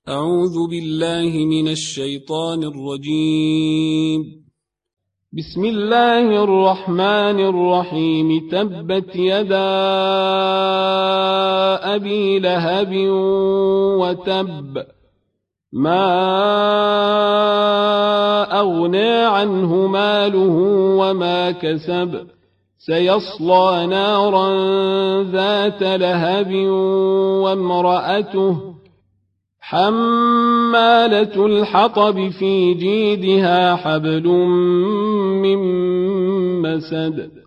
أعوذ بالله من الشيطان الرجيم. بسم الله الرحمن الرحيم. تبت يدا أبي لهب وتب، ما أغنى عنه ماله وما كسب، سيصلى نارا ذات لهب وامرأته حمالة الحطب في جيدها حبل من مسد.